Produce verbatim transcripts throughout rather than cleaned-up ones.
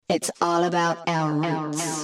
It's all about our roots.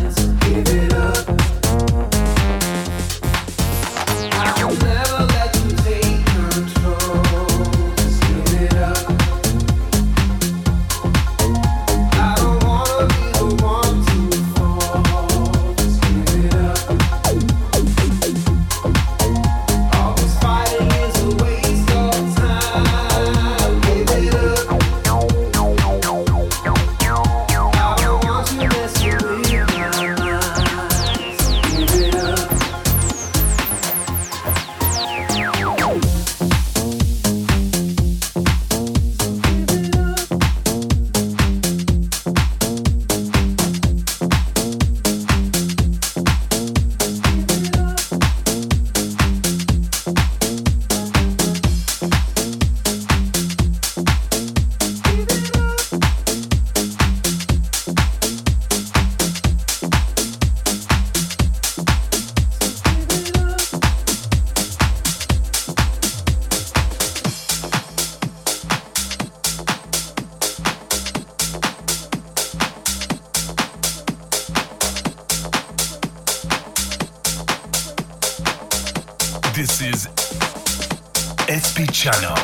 Never let you This is S P Channel.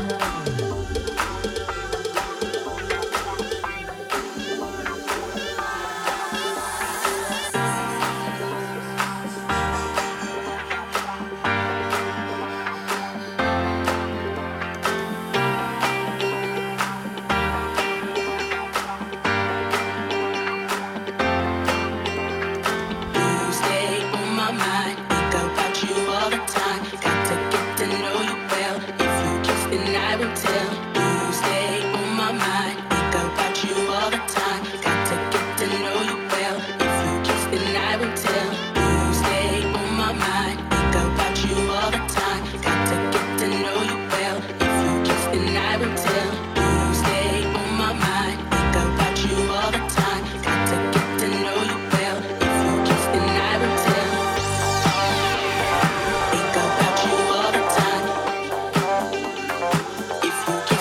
If you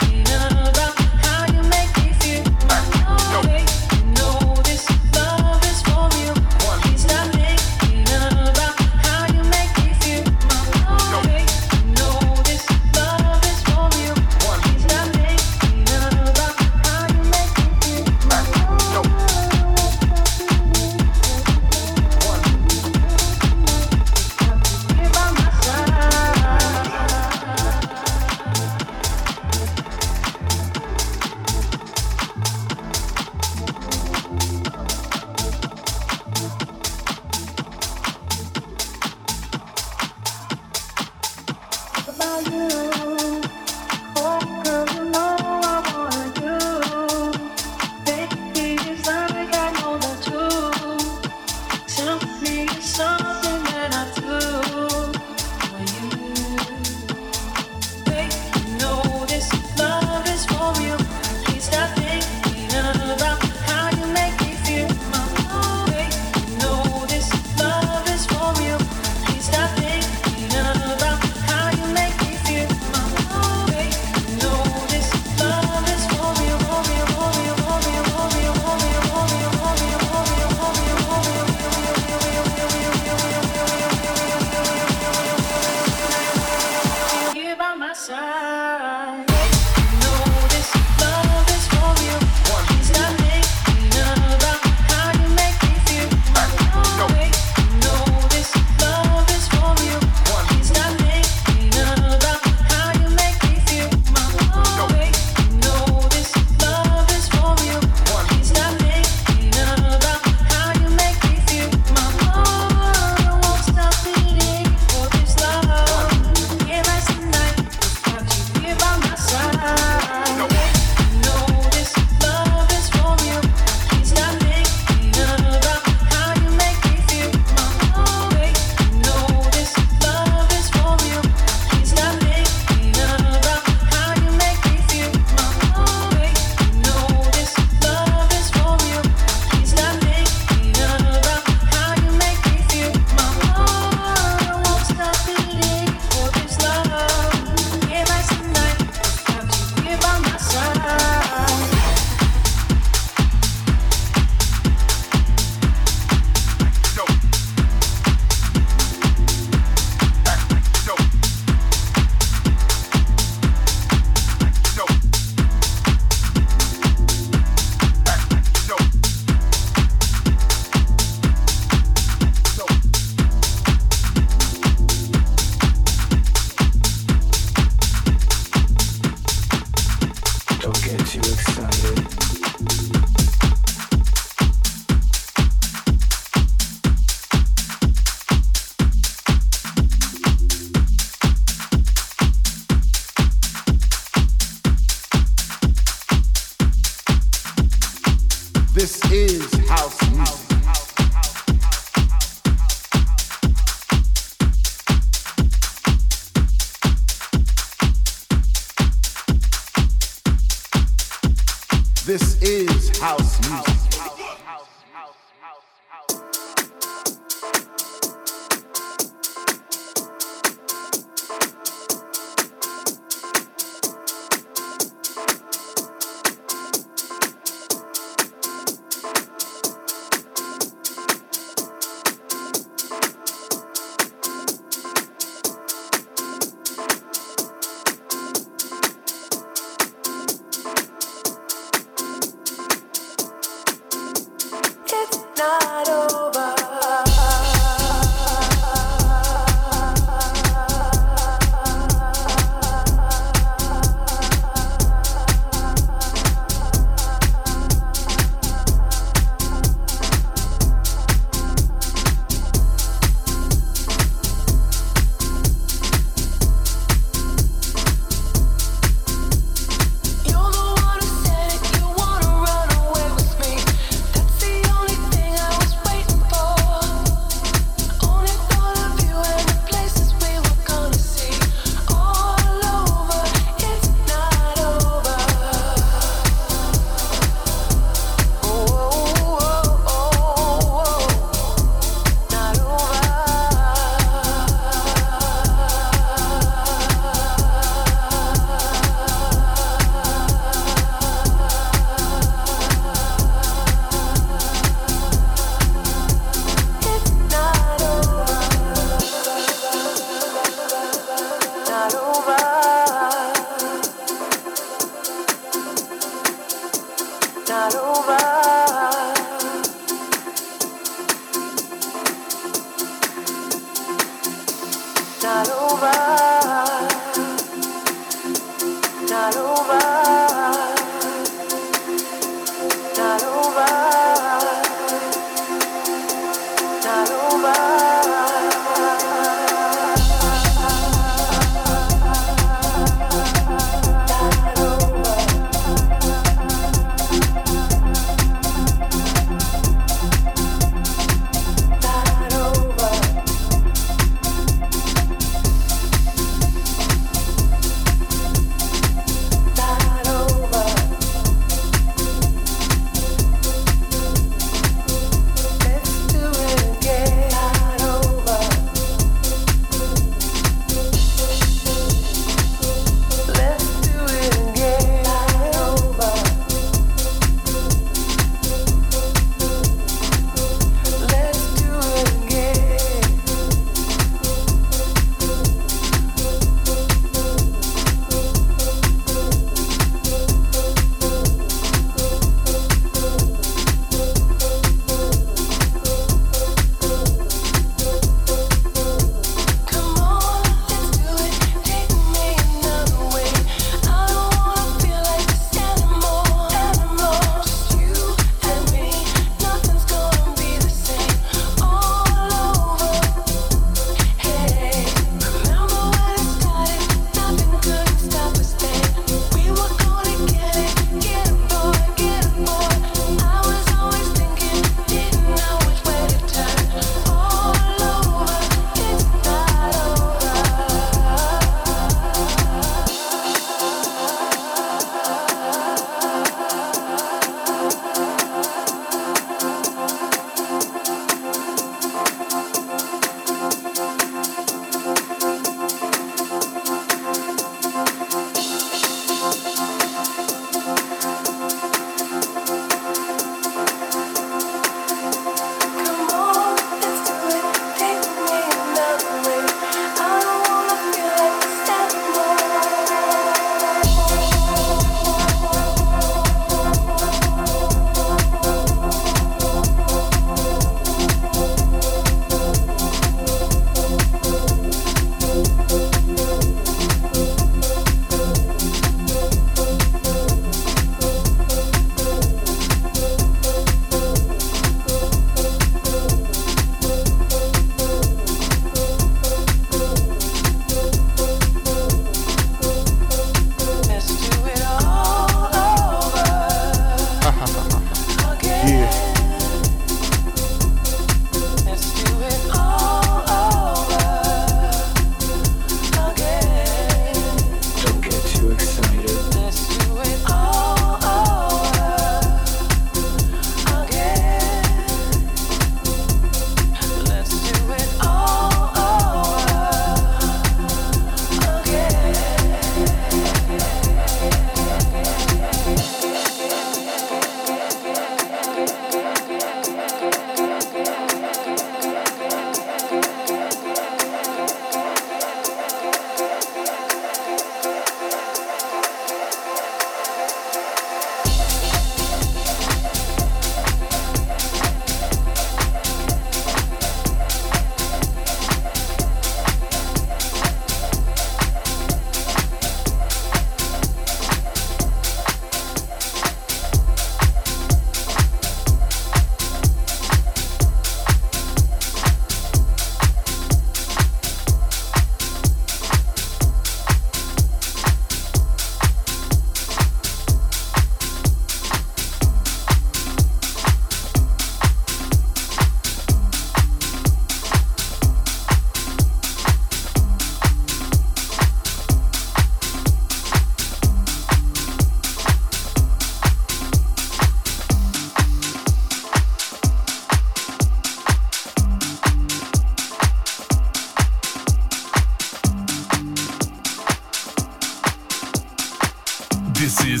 is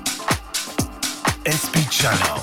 S P Channel.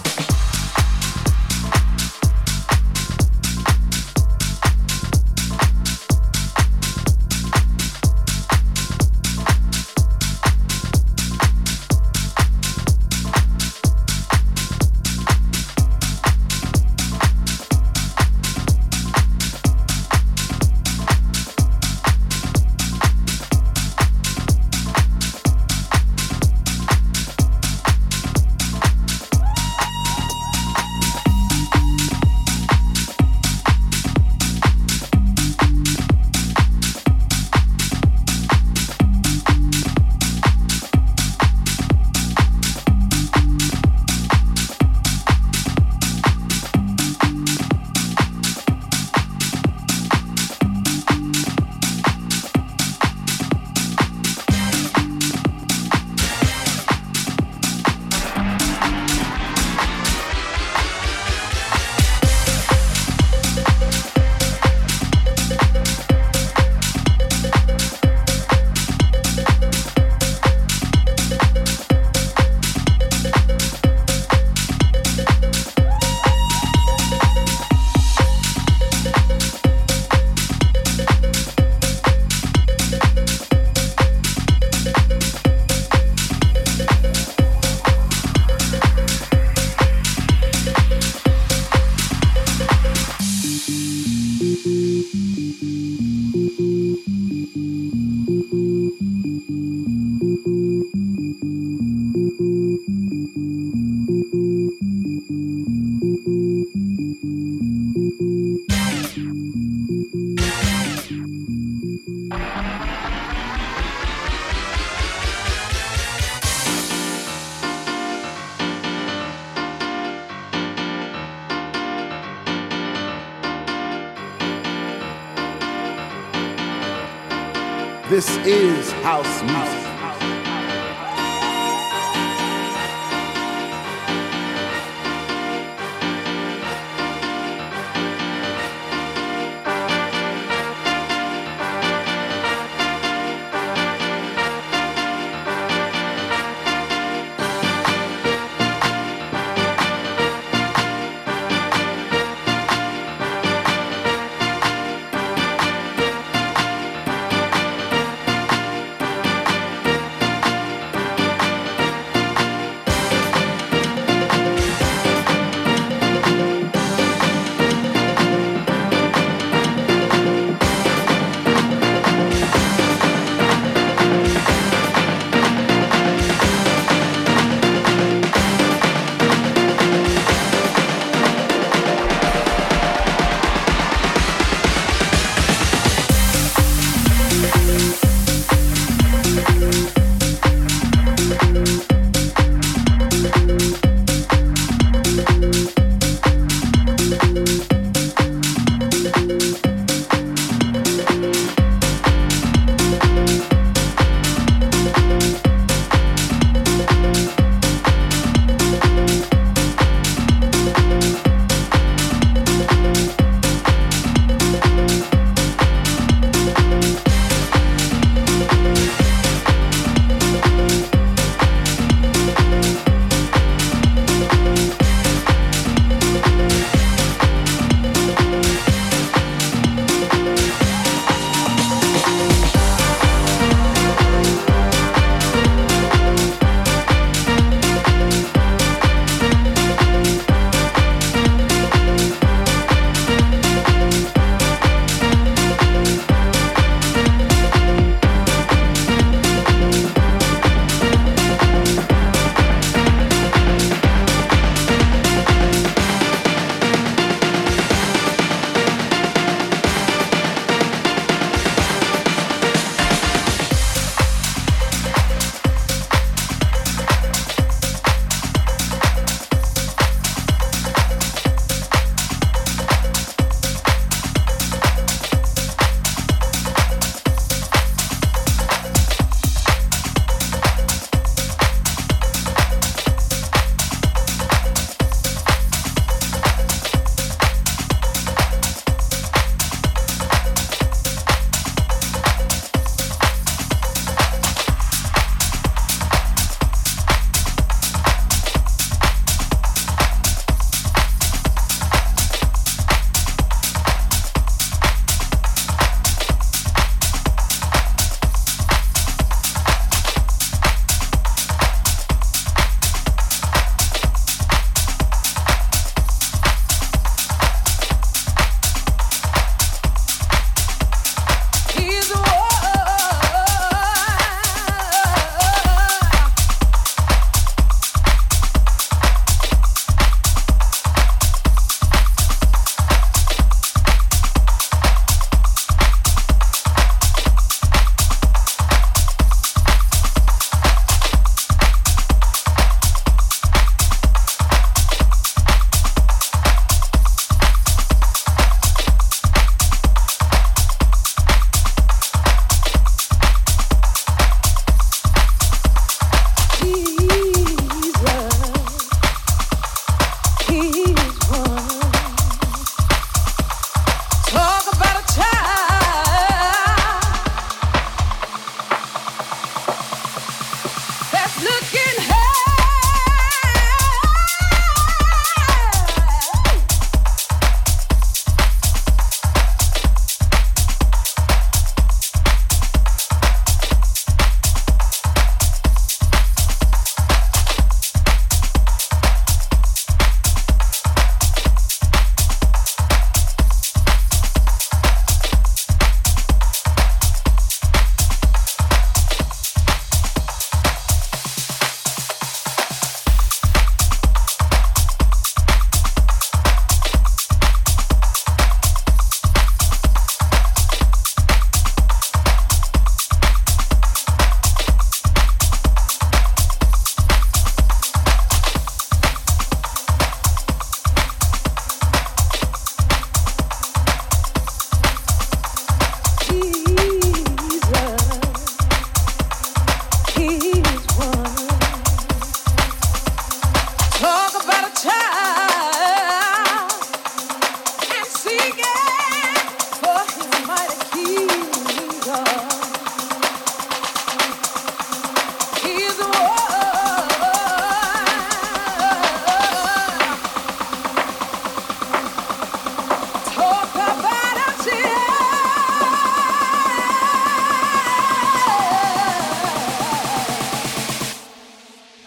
This is house music.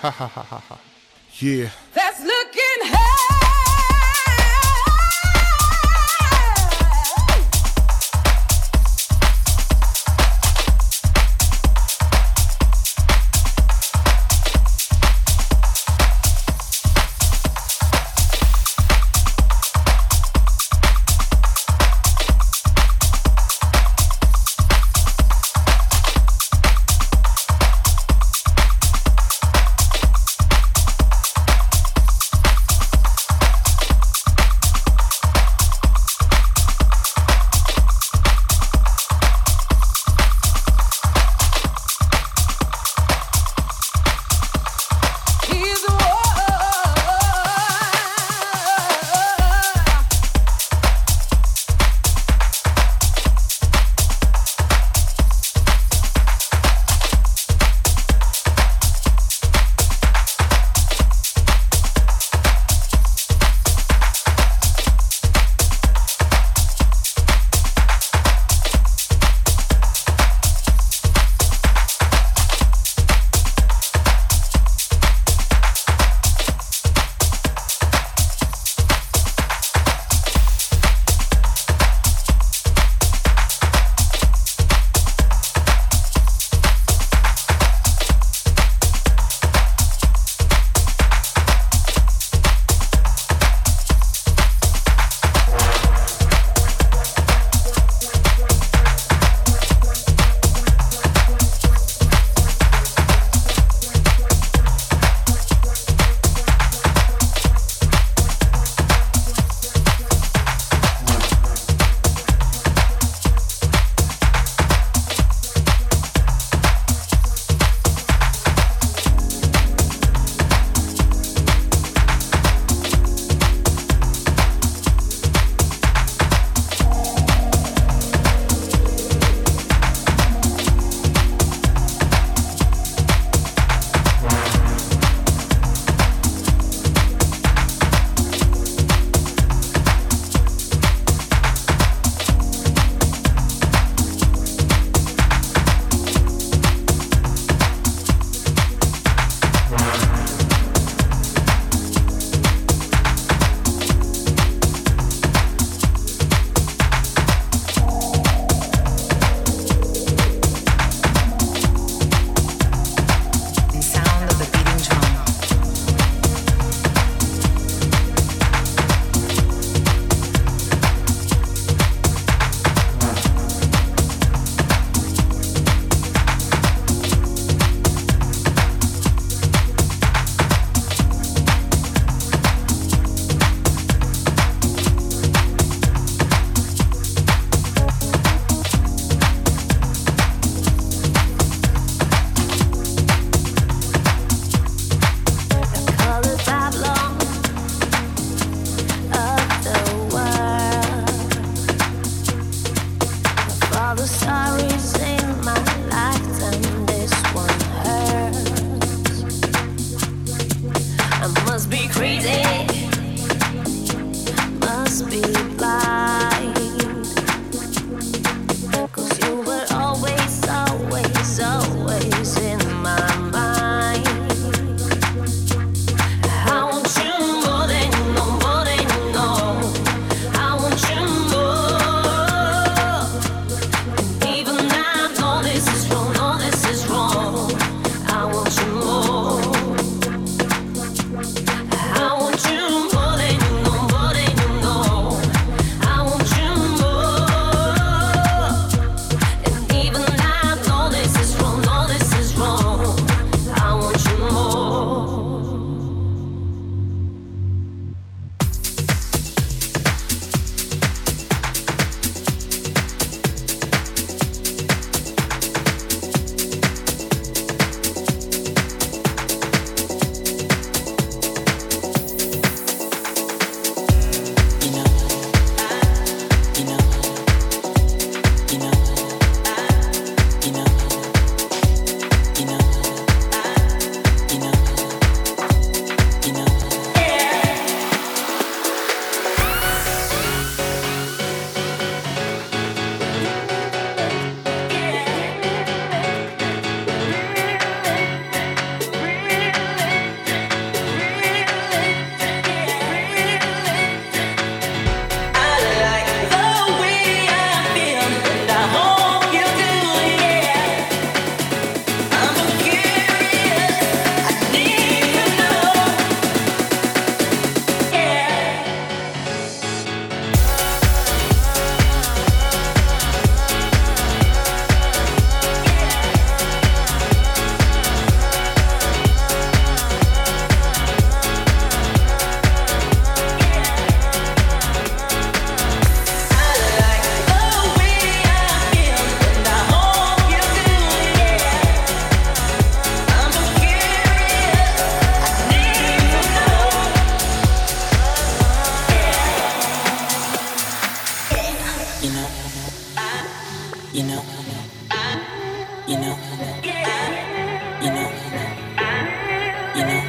Ha ha ha ha ha. Yeah. That's looking high. I want You know, you know, you know, you know.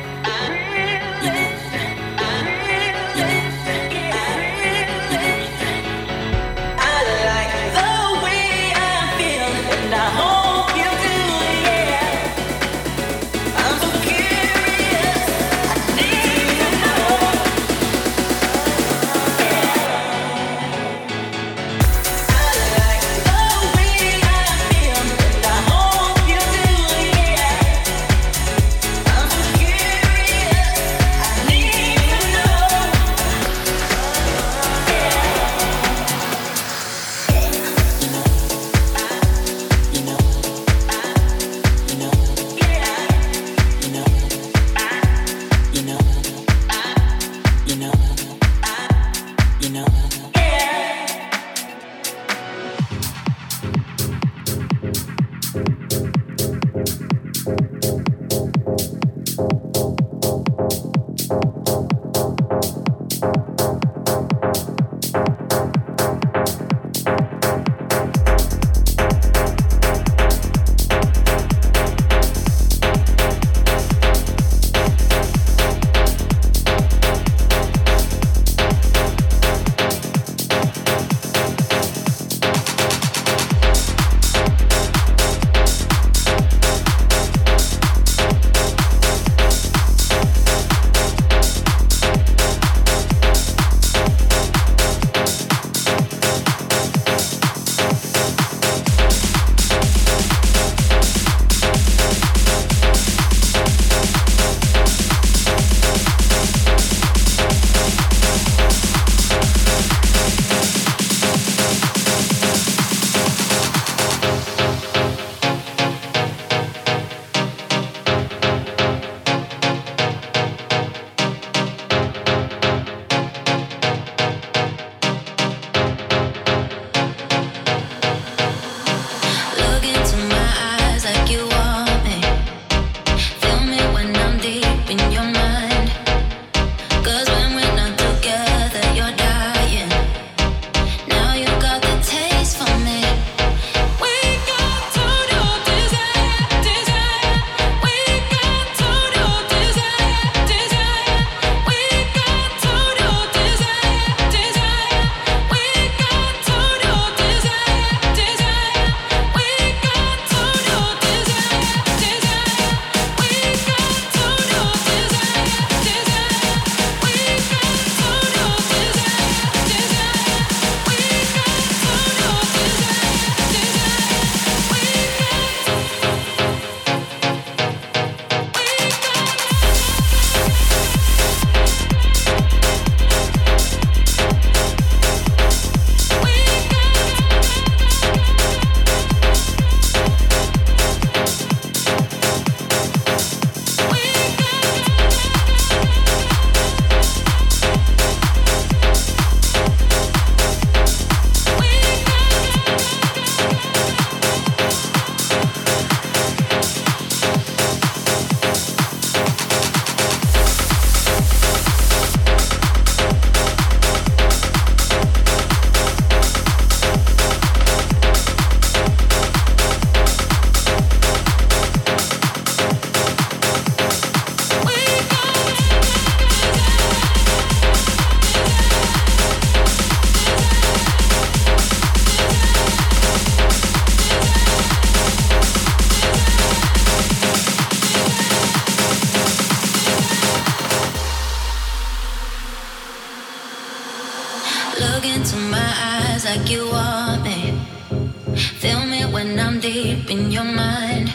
Look into my eyes like you want me. Feel me when I'm deep in your mind.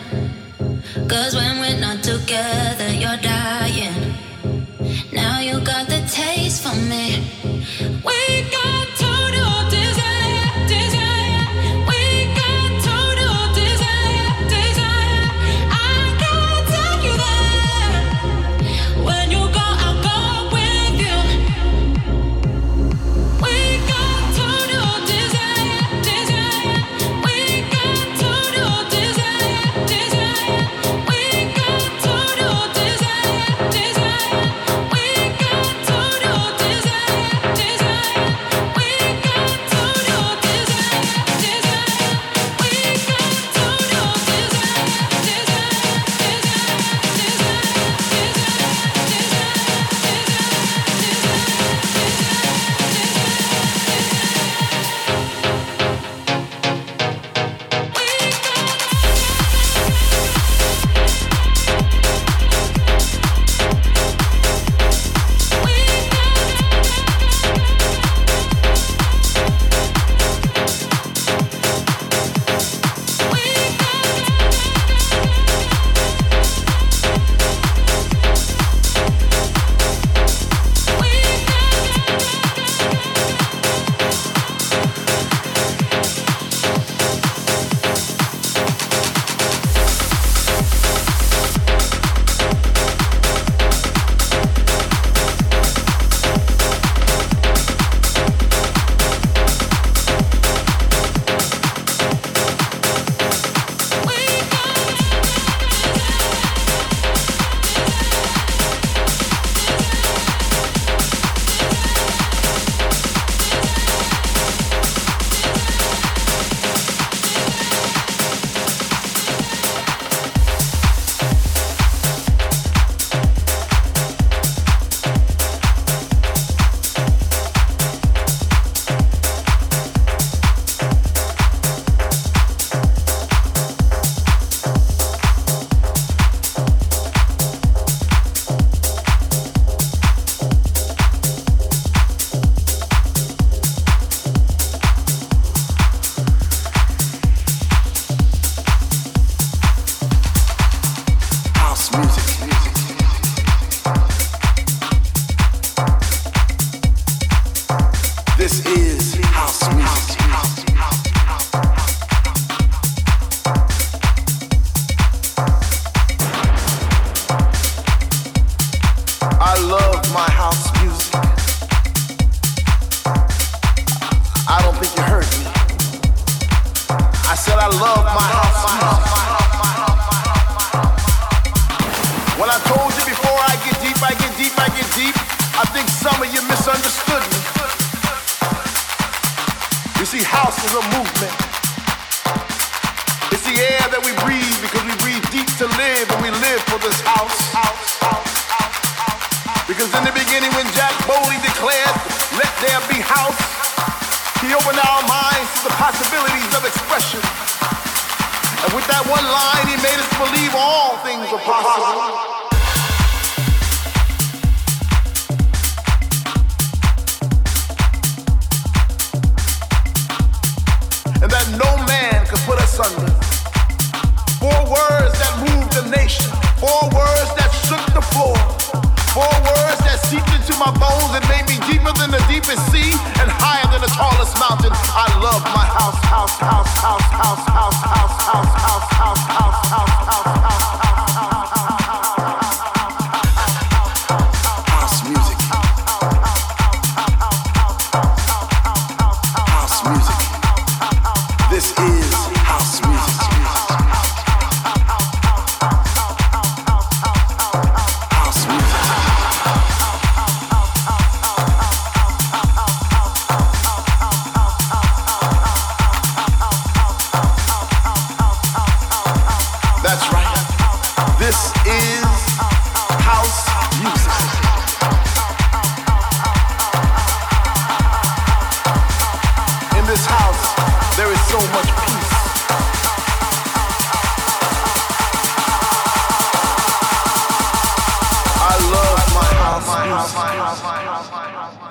Cause when we're not together, you're dying. Now you got the taste for me. We got total desire, desire. We got total desire, desire. I can't take you there. When you go, I'll go with you. We got total desire, desire. We got total desire, desire. We got said I love my house music. When I told you before I get deep, I get deep, I get deep, I think some of you misunderstood me. You see, house is a movement. It's the air that we breathe because we breathe deep to live and we live for this house. Because in the beginning when Jack Bowley declared, let there be house, he opened our minds to the possibilities of expression. And with that one line, he made us believe all things are possible. And that no man could put us under. Four words that moved the nation. Four words that shook the floor. Four words that seeped into my bones and made me deeper than the deepest sea and higher than the tallest mountain. I love my house, house, house, house, house, house, house, house, house, house, house, house, house, house. House music. House music. This is house music. House music. That's right. This is house music. In this house, there is so much peace. I love my house music.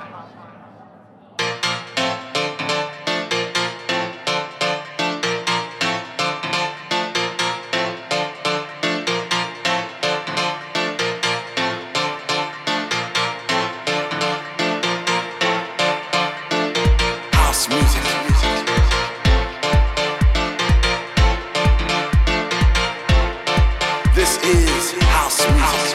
House music. This is house music.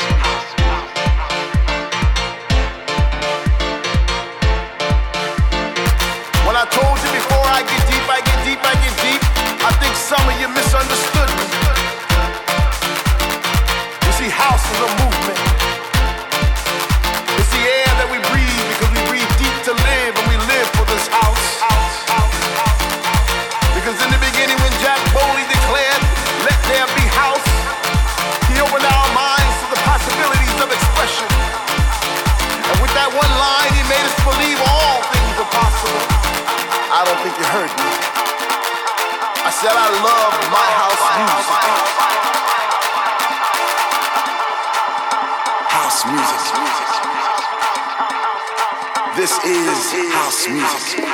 When I told you before I get deep, I get deep, I get deep, I think some of you misunderstood me. You see, house is a movement. It's the air that we breathe because we breathe deep to live and we live for this house. Because in the beginning when Jack Bowley declared, let there be house, he opened our minds to the possibilities of expression. And with that one line, he made us believe all things are possible. I don't think you heard me. I said I love my house music. House music. This is house music.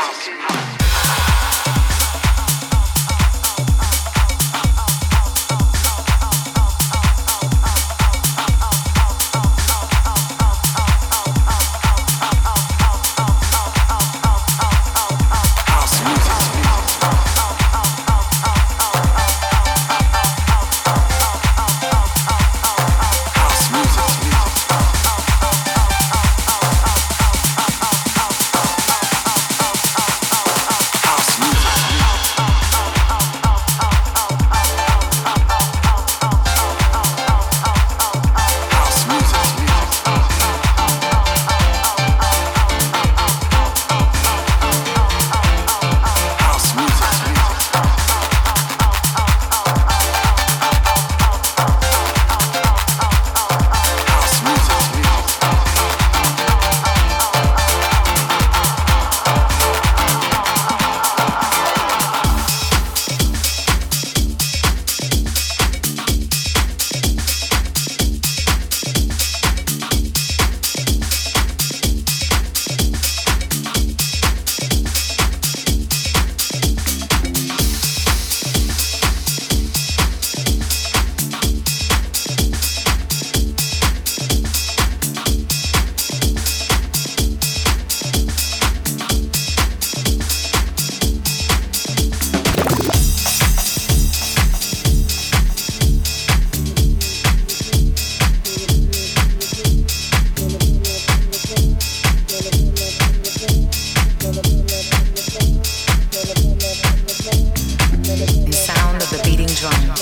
The sound of the beating drum.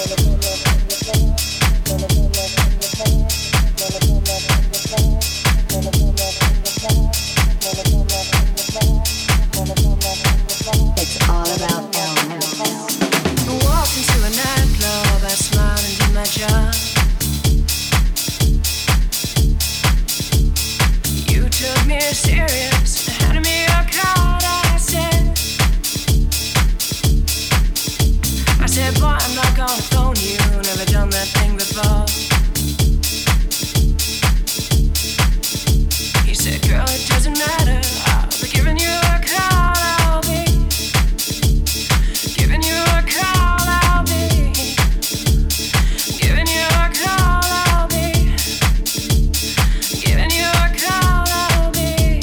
It's all about elements. I walked into a nightclub, I smiled and did my job. You took me serious, handed me a card. I said, I said, boy, I'm not gonna phone you. Never done that thing before. He said, girl, it doesn't matter. I'll be giving you a call. I'll be giving you a call. I'll be giving you a call. I'll be giving you a call. I'll be.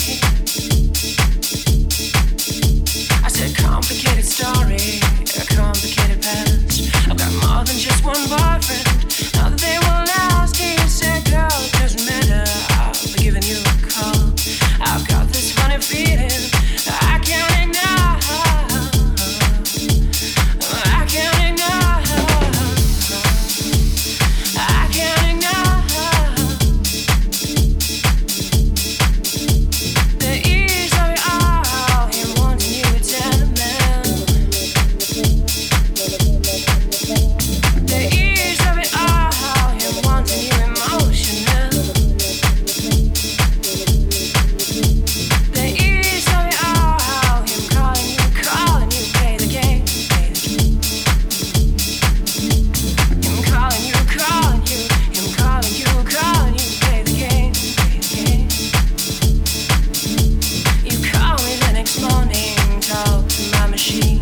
I said, complicated story, a complicated past. I've got more than just one boyfriend. Now that they will last. He said, girl, it doesn't matter. I'll be giving you a call. I've got this funny feeling I can't ignore. I can't ignore. I can't ignore. The ease of it all, him wanting you to tell man. The ease of it all, him wanting you emotional. The ease of it all, him calling you, calling you, play the game, play the game. Him calling you, calling you, him calling you, calling you, play the game, play the game. You call me the next morning, talk to my machine.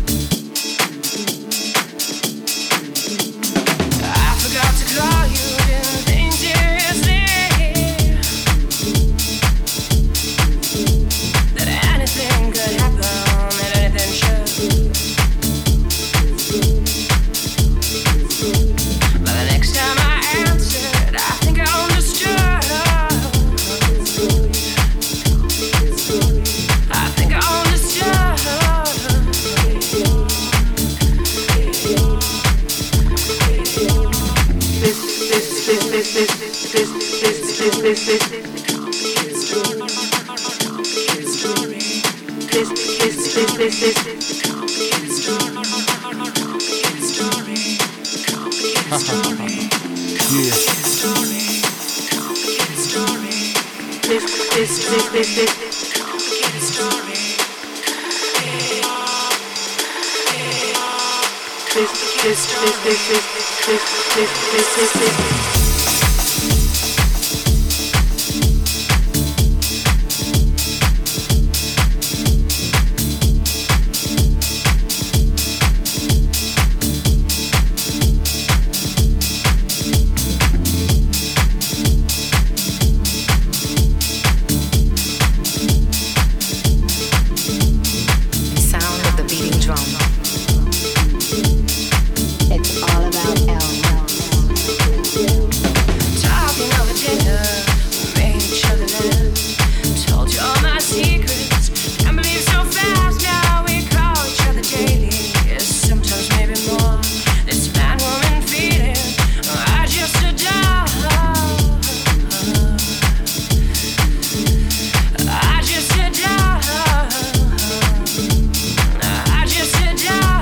I forgot to call you, didn't think seriously that anything could happen, that anything should. But the next time I answered, I think I understood. I think I understood. The sound of the beating drum. It's all about elements. Talking over dinner, we made each other laugh. Told you all my secrets, can't believe so fast. Now we call each other daily, yes, sometimes maybe more. This man-woman feeling, I just adore. I just adore. I just adore.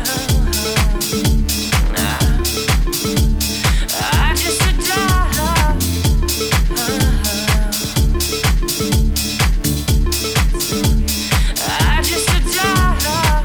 I just adore. I just adore.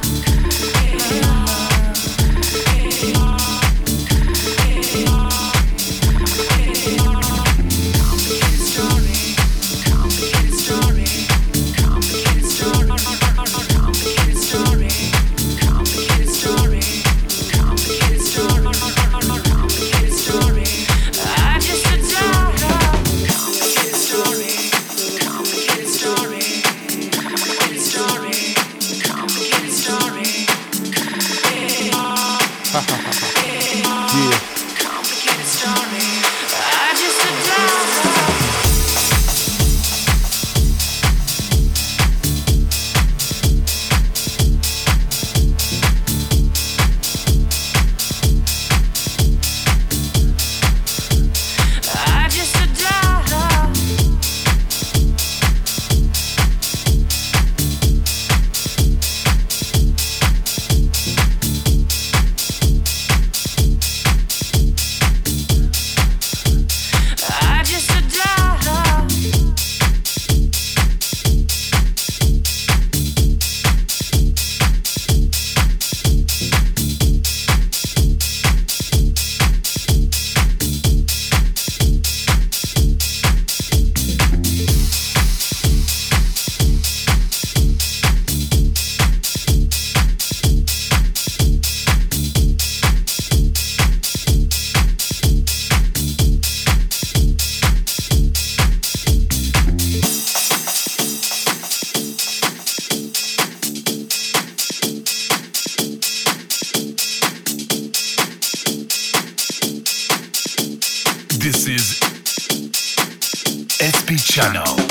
Complicated story, complicated story, complicated story, complicated story, complicated story, complicated story, complicated story. I just adore. Complicated story, complicated story, complicated story, complicated story. Yeah. Complicated story. I just adore. This is S P Channel.